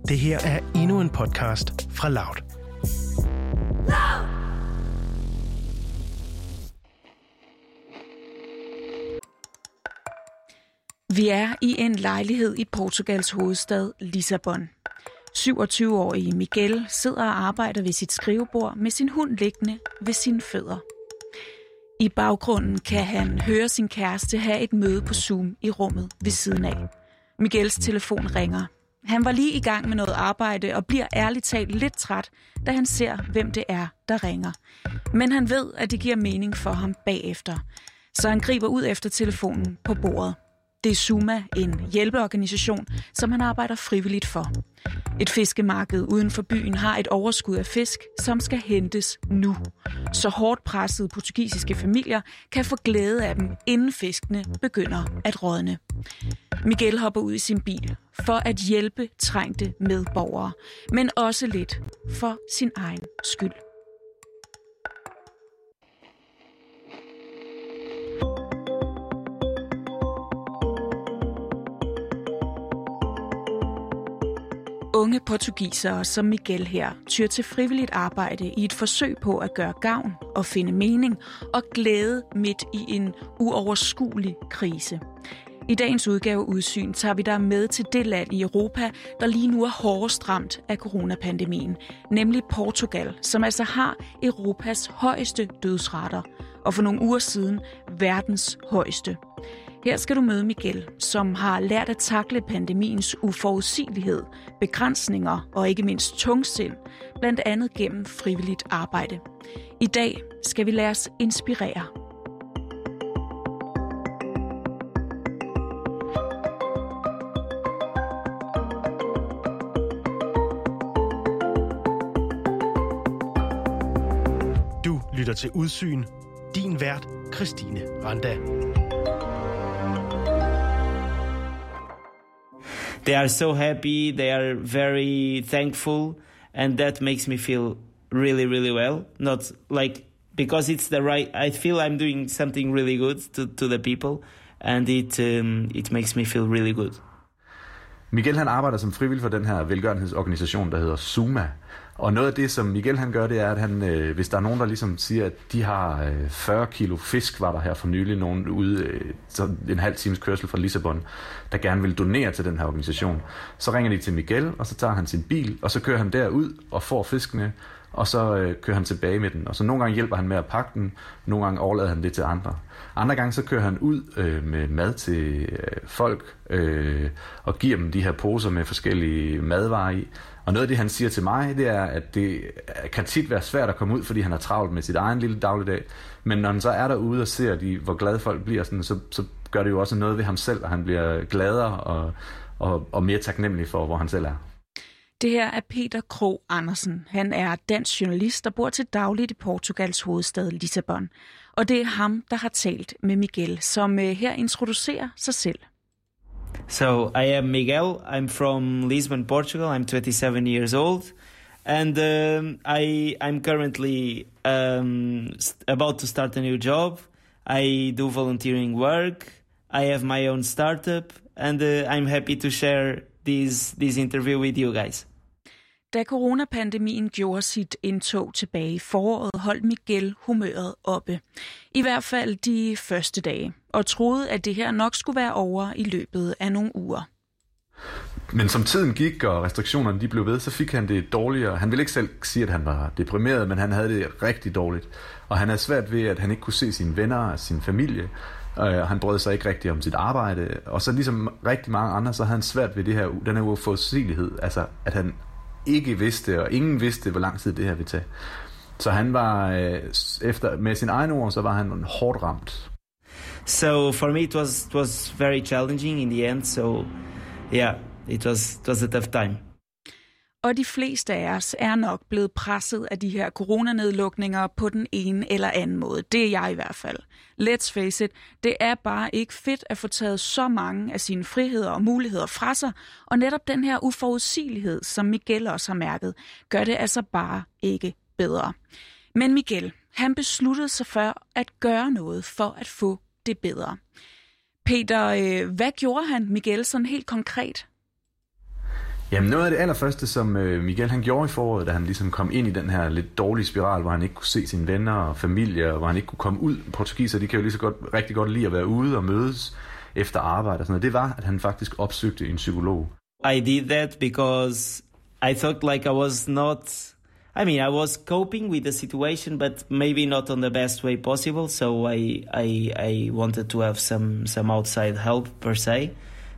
Det her er endnu en podcast fra Loud. Vi er i en lejlighed i Portugals hovedstad Lissabon. 27-årige Miguel sidder og arbejder ved sit skrivebord med sin hund liggende ved sine fødder. I baggrunden kan han høre sin kæreste have et møde på Zoom i rummet ved siden af. Miguels telefon ringer. Han var lige i gang med noget arbejde og bliver ærligt talt lidt træt, da han ser, hvem det er, der ringer. Men han ved, at det giver mening for ham bagefter. Så han griber ud efter telefonen på bordet. Det er Zuma, en hjælpeorganisation, som han arbejder frivilligt for. Et fiskemarked uden for byen har et overskud af fisk, som skal hentes nu. Så hårdt pressede portugisiske familier kan få glæde af dem, inden fiskene begynder at rådne. Miguel hopper ud i sin bil for at hjælpe trængte medborgere, men også lidt for sin egen skyld. Unge portugisere som Miguel her tyr til frivilligt arbejde i et forsøg på at gøre gavn og finde mening og glæde midt i en uoverskuelig krise. I dagens udgave Udsyn tager vi dig med til det land i Europa, der lige nu er hårdest ramt af coronapandemien, nemlig Portugal, som altså har Europas højeste dødsrater, og for nogle uger siden verdens højeste. Her skal du møde Miguel, som har lært at takle pandemiens uforudsigelighed, begrænsninger og ikke mindst tungsind, blandt andet gennem frivilligt arbejde. I dag skal vi lade os inspirere. Du lytter til Udsyn. Din vært, Christine Randa. They are so happy, they are very thankful, and that makes me feel really, really well. Not like, because it's the right, I feel I'm doing something really good to the people, and it makes me feel really good. Miguel han arbejder som frivillig for den her velgørenhedsorganisation, der hedder Zuma. Og noget af det, som Miguel han gør, det er, at han, hvis der er nogen, der ligesom siger, at de har 40 kilo fisk, var der her for nylig nogen ude, så en halv times kørsel fra Lissabon, der gerne vil donere til den her organisation. Så ringer de til Miguel, og så tager han sin bil, og så kører han derud og får fiskene, og så kører han tilbage med den. Og så nogle gange hjælper han med at pakke den, nogle gange overlader han det til andre. Andre gange så kører han ud med mad til folk og giver dem de her poser med forskellige madvarer i. Og noget af det, han siger til mig, det er, at det kan tit være svært at komme ud, fordi han har travlt med sit egen lille dagligdag. Men når han så er derude og ser, hvor glade folk bliver, sådan, så gør det jo også noget ved ham selv, og han bliver gladere og mere taknemmelig for, hvor han selv er. Det her er Peter Krog Andersen. Han er dansk journalist, der bor til dagligt i Portugals hovedstad Lissabon. Og det er ham, der har talt med Miguel, som her introducerer sig selv. So I am Miguel. I'm from Lisbon, Portugal. I'm 27 years old, and I'm currently about to start a new job. I do volunteering work. I have my own startup, and I'm happy to share this interview with you guys. Da coronapandemien gjorde sit indtog tilbage i foråret, holdt Miguel humøret oppe. I hvert fald de første dage, og troede, at det her nok skulle være over i løbet af nogle uger. Men som tiden gik, og restriktionerne de blev ved, så fik han det dårligere. Han ville ikke selv sige, at han var deprimeret, men han havde det rigtig dårligt. Og han havde svært ved, at han ikke kunne se sine venner og sin familie. Og han brød sig ikke rigtig om sit arbejde. Og så ligesom rigtig mange andre, så havde han svært ved den her uforudsigelighed. Altså, at han ikke vidste, og ingen vidste, hvor lang tid det her ville tage. Så han var, med sin egen ord, så var han hårdt ramt. So for me it was very challenging in the end, so yeah, it was a tough time. Og de fleste af os er nok blevet presset af de her coronanedlukninger på den ene eller anden måde. Det er jeg i hvert fald. Let's face it, det er bare ikke fedt at få taget så mange af sine friheder og muligheder fra sig, og netop den her uforudsigelighed, som Miguel også har mærket, gør det altså bare ikke bedre. Men Miguel, han besluttede sig for at gøre noget for at få det bedre. Peter, hvad gjorde han, Miguel, sådan helt konkret? Jamen noget af det allerførste, som Miguel han gjorde i foråret, da han ligesom kom ind i den her lidt dårlige spiral, hvor han ikke kunne se sine venner og familie, og hvor han ikke kunne komme ud. Portugiser, de kan jo lige så godt, rigtig godt lide at være ude og mødes efter arbejde og sådan noget. Det var, at han faktisk opsøgte en psykolog. I did that because I thought like I was not... I was coping with the situation, but maybe not on the best way possible. So I wanted to have some outside help per se,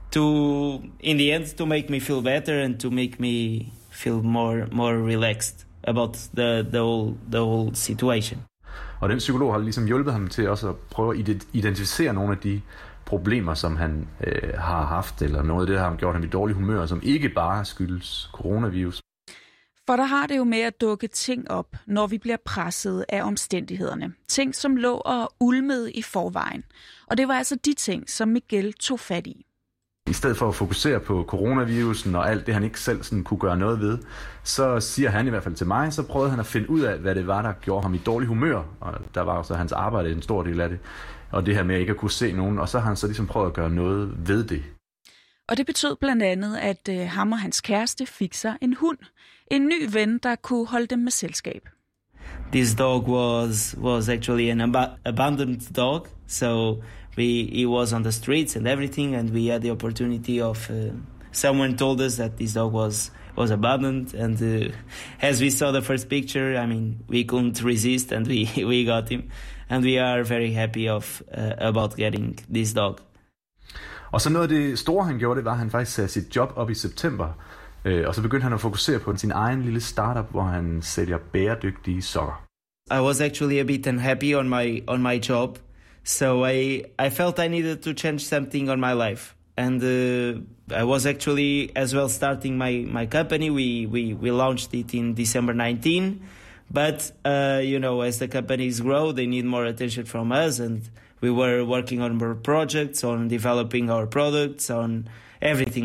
in the end, to make me feel better and to make me feel more relaxed about the whole situation. Og den psykolog har ligesom hjulpet ham til også at prøve at identificere nogle af de problemer, som han har haft, eller noget af det, der har gjort ham i dårlig humør, som ikke bare skyldes coronavirus. For der har det jo med at dukke ting op, når vi bliver presset af omstændighederne. Ting, som lå og ulmede i forvejen. Og det var altså de ting, som Miguel tog fat i. I stedet for at fokusere på coronavirusen og alt det, han ikke selv sådan kunne gøre noget ved, så siger han i hvert fald til mig, så prøvede han at finde ud af, hvad det var, der gjorde ham i dårlig humør. Og der var også hans arbejde en stor del af det. Og det her med at ikke at kunne se nogen. Og så har han så ligesom prøvet at gøre noget ved det. Og det betød blandt andet, at ham og hans kæreste fik sig en hund. En ny ven, der kunne holde dem med selskab. This dog was actually an abandoned dog, so he was on the streets and everything, and we had the opportunity of someone told us that this dog was abandoned, and as we saw the first picture, we couldn't resist, and we got him, and we are very happy about getting this dog. Og så noget af det store, han gjorde, det var, at han faktisk satte sit job op i september. Og så begyndte han at fokusere på sin egen lille startup, hvor han sælger bæredygtige sokker. I was actually a bit unhappy on my job, so I felt I needed to change something on my life. And I was actually as well starting my company. We launched it in December 19, but as the companies grow, they need more attention from us, and we were working on more projects, on developing our products, on everything.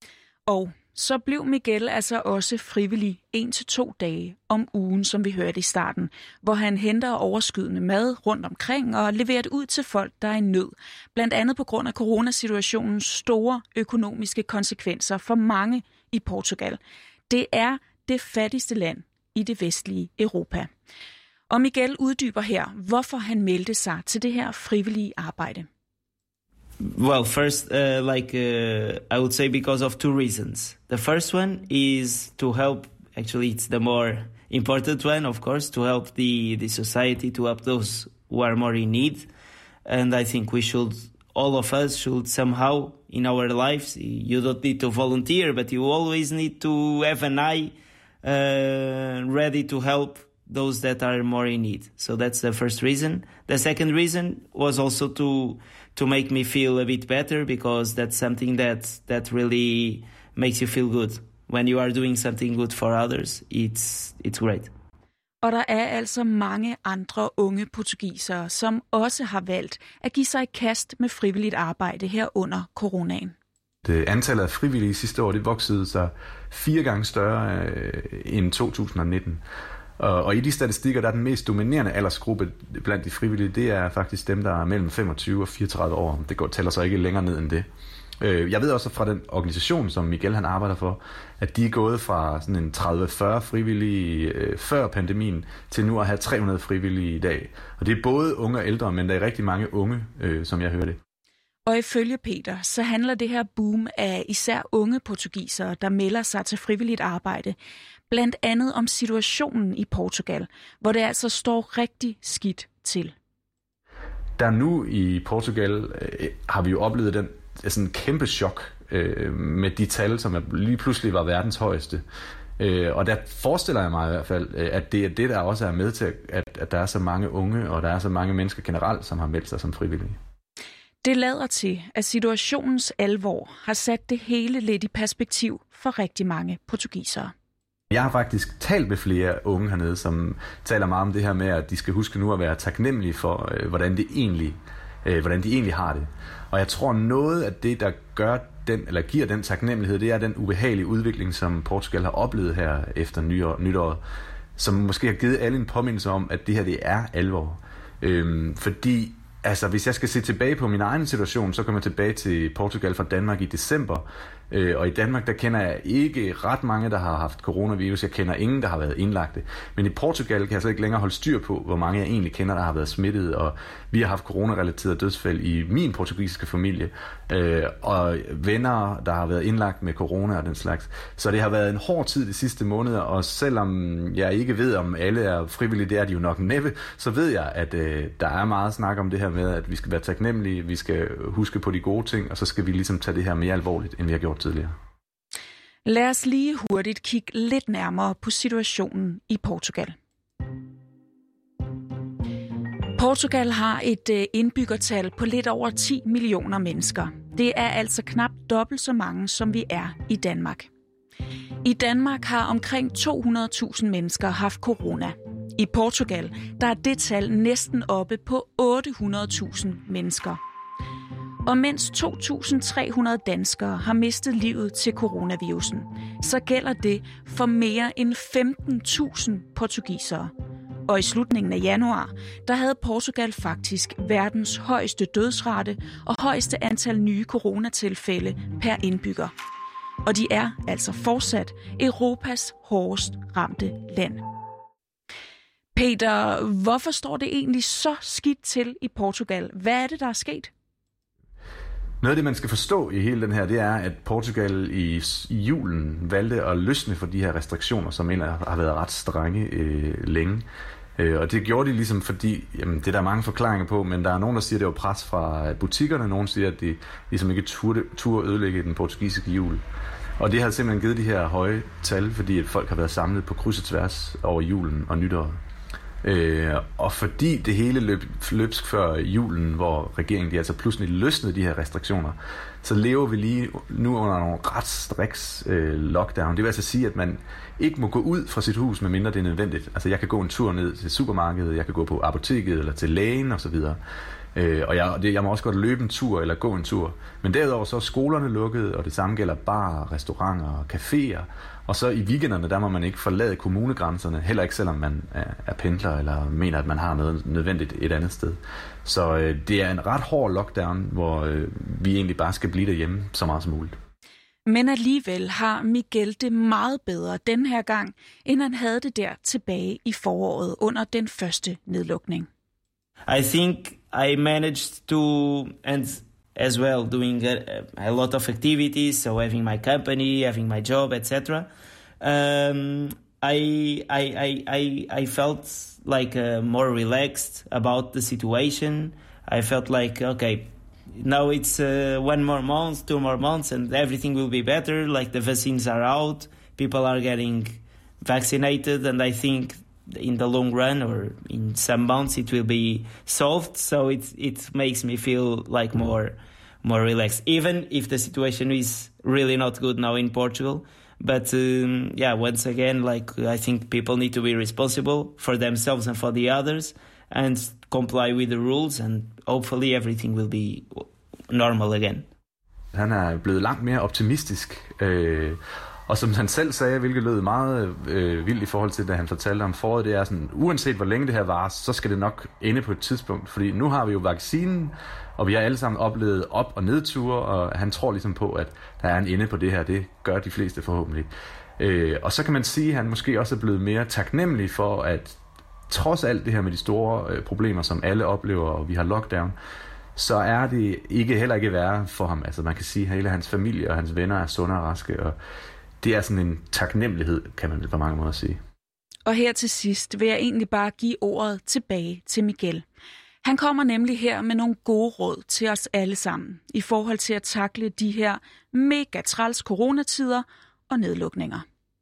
Og så blev Miguel altså også frivillig 1-2 dage om ugen, som vi hørte i starten, hvor han henter overskydende mad rundt omkring og leverer det ud til folk, der er i nød. Blandt andet på grund af coronasituationens store økonomiske konsekvenser for mange i Portugal. Det er det fattigste land i det vestlige Europa. Og Miguel uddyber her, hvorfor han meldte sig til det her frivillige arbejde. Well, first, I would say because of 2 reasons. The first one is to help, actually it's the more important one, of course, to help the society, to help those who are more in need. And I think all of us should somehow in our lives, you don't need to volunteer, but you always need to have an eye ready to help those that are more in need. So that's the first reason. The second reason was also to make me feel a bit better, because that's something that really makes you feel good. When you are doing something good for others, it's great. Og der er altså mange andre unge portugisere, som også har valgt at give sig i kast med frivilligt arbejde her under coronaen. Antallet af frivillige sidste år, det voksede sig 4 gange større end 2019. Og i de statistikker, der er den mest dominerende aldersgruppe blandt de frivillige, det er faktisk dem, der er mellem 25 og 34 år. Det tæller så ikke længere ned end det. Jeg ved også fra den organisation, som Miguel han arbejder for, at de er gået fra sådan en 30-40 frivillige før pandemien til nu at have 300 frivillige i dag. Og det er både unge og ældre, men der er rigtig mange unge, som jeg hører det. Og ifølge Peter, så handler det her boom af især unge portugisere, der melder sig til frivilligt arbejde, blandt andet om situationen i Portugal, hvor det altså står rigtig skidt til. Der nu i Portugal har vi jo oplevet sådan en kæmpe chok med de tal, som lige pludselig var verdens højeste. Og der forestiller jeg mig i hvert fald, at det er det, der også er med til, at der er så mange unge, og der er så mange mennesker generelt, som har meldt sig som frivillige. Det lader til, at situationens alvor har sat det hele lidt i perspektiv for rigtig mange portugisere. Jeg har faktisk talt med flere unge hernede, som taler meget om det her med, at de skal huske nu at være taknemmelige for, hvordan de egentlig har det. Og jeg tror, noget af det, der giver den taknemmelighed, det er den ubehagelige udvikling, som Portugal har oplevet her efter nytåret, som måske har givet alle en påmindelse om, at det her det er alvor. Fordi Altså, hvis jeg skal se tilbage på min egen situation, så kommer jeg tilbage til Portugal fra Danmark i december. Og i Danmark, der kender jeg ikke ret mange, der har haft coronavirus. Jeg kender ingen, der har været indlagte. Men i Portugal kan jeg så ikke længere holde styr på, hvor mange jeg egentlig kender, der har været smittet. Og vi har haft coronarelaterede dødsfald i min portugisiske familie. Og venner, der har været indlagt med corona og den slags. Så det har været en hård tid de sidste måneder. Og selvom jeg ikke ved, om alle er frivillige, det er de jo nok næppe, så ved jeg, at der er meget snak om det her med, at vi skal være taknemmelige, vi skal huske på de gode ting, og så skal vi ligesom tage det her mere alvorligt, end vi har gjort tidligere. Lad os lige hurtigt kigge lidt nærmere på situationen i Portugal. Portugal har et indbyggertal på lidt over 10 millioner mennesker. Det er altså knap dobbelt så mange, som vi er i Danmark. I Danmark har omkring 200.000 mennesker haft corona. I Portugal der er det tal næsten oppe på 800.000 mennesker. Og mens 2.300 danskere har mistet livet til coronavirusen, så gælder det for mere end 15.000 portugisere. Og i slutningen af januar, der havde Portugal faktisk verdens højeste dødsrate og højeste antal nye coronatilfælde per indbygger. Og de er altså fortsat Europas hårdest ramte land. Peter, hvorfor står det egentlig så skidt til i Portugal? Hvad er det, der er sket? Noget af det, man skal forstå i hele den her, det er, at Portugal i julen valgte at løsne for de her restriktioner, som egentlig har været ret strenge længe. Og det gjorde de ligesom fordi, det er der mange forklaringer på, men der er nogen, der siger, at det var pres fra butikkerne, nogen siger, at de ligesom ikke turde ødelægge den portugisiske jul. Og det har simpelthen givet de her høje tal, fordi at folk har været samlet på kryds og tværs over julen og nytåret. Og fordi det hele løbsk før julen, hvor regeringen de altså pludselig løsnede de her restriktioner, så lever vi lige nu under nogle ret striks lockdown. Det vil altså sige, at man ikke må gå ud fra sit hus, medmindre det er nødvendigt. Altså jeg kan gå en tur ned til supermarkedet, jeg kan gå på apoteket eller til lægen osv. Og jeg må også godt løbe en tur eller gå en tur. Men derudover så er skolerne lukket, og det samme gælder barer, restauranter og caféer. Og så i weekenderne, der må man ikke forlade kommunegrænserne, heller ikke selvom man er pendler eller mener, at man har noget nødvendigt et andet sted. Så det er en ret hård lockdown, hvor vi egentlig bare skal blive derhjemme så meget som muligt. Men alligevel har Miguel det meget bedre den her gang, end han havde det der tilbage i foråret under den første nedlukning. I think I managed to, and as well doing a lot of activities, so having my company, having my job, etc. I felt like more relaxed about the situation. I felt like, okay, now it's 1 more month, 2 more months, and everything will be better. Like the vaccines are out, people are getting vaccinated, and I think in the long run or in some months it will be solved. So it makes me feel like more relaxed, even if the situation is really not good now in Portugal. But once again, like I think people need to be responsible for themselves and for the others and comply with the rules, and hopefully everything will be normal again. Han er blevet langt mere optimistisk, og som han selv sagde, hvilket lød meget vildt i forhold til, da han fortalte om foråret, det er sådan, uanset hvor længe det her varer, så skal det nok ende på et tidspunkt, fordi nu har vi jo vaccinen, og vi har alle sammen oplevet op- og nedture, og han tror ligesom på, at der er en ende på det her. Det gør de fleste forhåbentlig. Og så kan man sige, at han måske også er blevet mere taknemmelig for, at trods alt det her med de store problemer, som alle oplever, og vi har lockdown, så er det heller ikke værre for ham. Altså man kan sige, at hele hans familie og hans venner er sunde og raske, og det er sådan en taknemmelighed, kan man på mange måder sige. Og her til sidst vil jeg egentlig bare give ordet tilbage til Miguel. Han kommer nemlig her med nogle gode råd til os alle sammen i forhold til at takle de her mega træls coronatider og nedlukninger.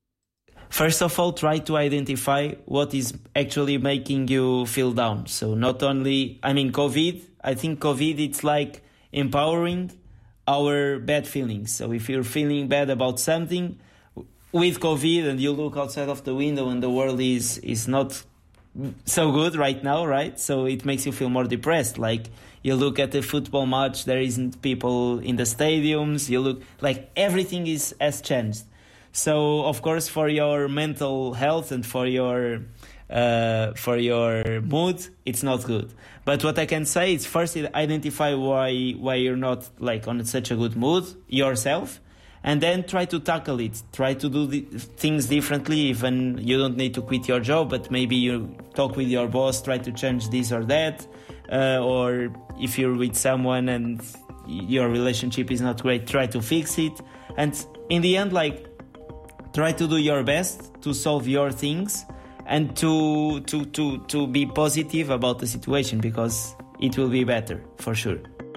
First of all, try to identify what is actually making you feel down. So not only, COVID, I think COVID, it's like empowering our bad feelings. So if you're feeling bad about something with COVID and you look outside of the window and the world is not so good right now, right? So it makes you feel more depressed. Like you look at the football match, there isn't people in the stadiums. You look like everything has changed. So of course, for your mental health and for your for your mood, it's not good. But what I can say is first identify why you're not like on such a good mood yourself, and then try to tackle it. Try to do things differently. Even you don't need to quit your job, but maybe you talk with your boss, try to change this or that. Or if you're with someone and your relationship is not great, try to fix it. And in the end, like, try to do your best to solve your things and to be positive about the situation, because it will be better for sure.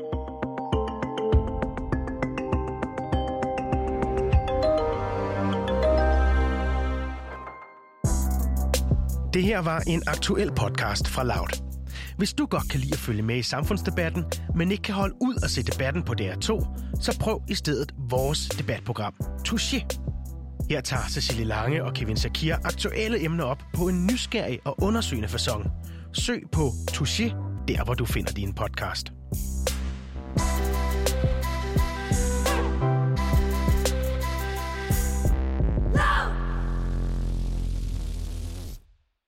Det her var en aktuel podcast fra Loud. Hvis du godt kan lide at følge med i samfundsdebatten, men ikke kan holde ud og se debatten på DR2, så prøv i stedet vores debatprogram Touché. Her tager Cecilie Lange og Kevin Sakir aktuelle emner op på en nysgerrig og undersøgende facon. Søg på Touché, der hvor du finder din podcast.